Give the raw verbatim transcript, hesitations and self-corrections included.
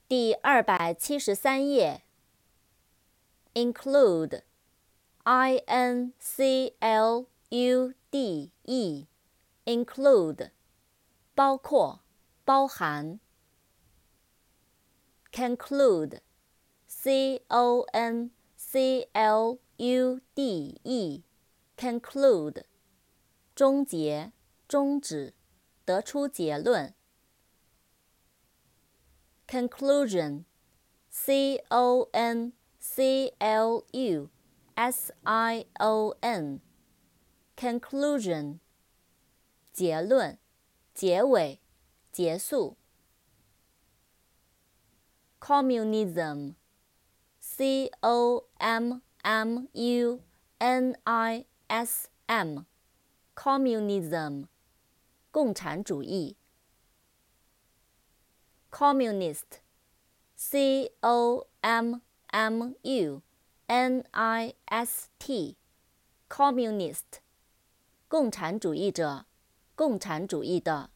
第二百七十三页 include I N C L U D E include 包括包含 conclude C O N C L U D E conclude 终结终止得出结论Conclusion C O N C L U S I O N Conclusion 结论结尾结束 Communism C O M M U N I S M Communism 共产主义Communist C O M M U N I S T Communist 共产主义者共产主义的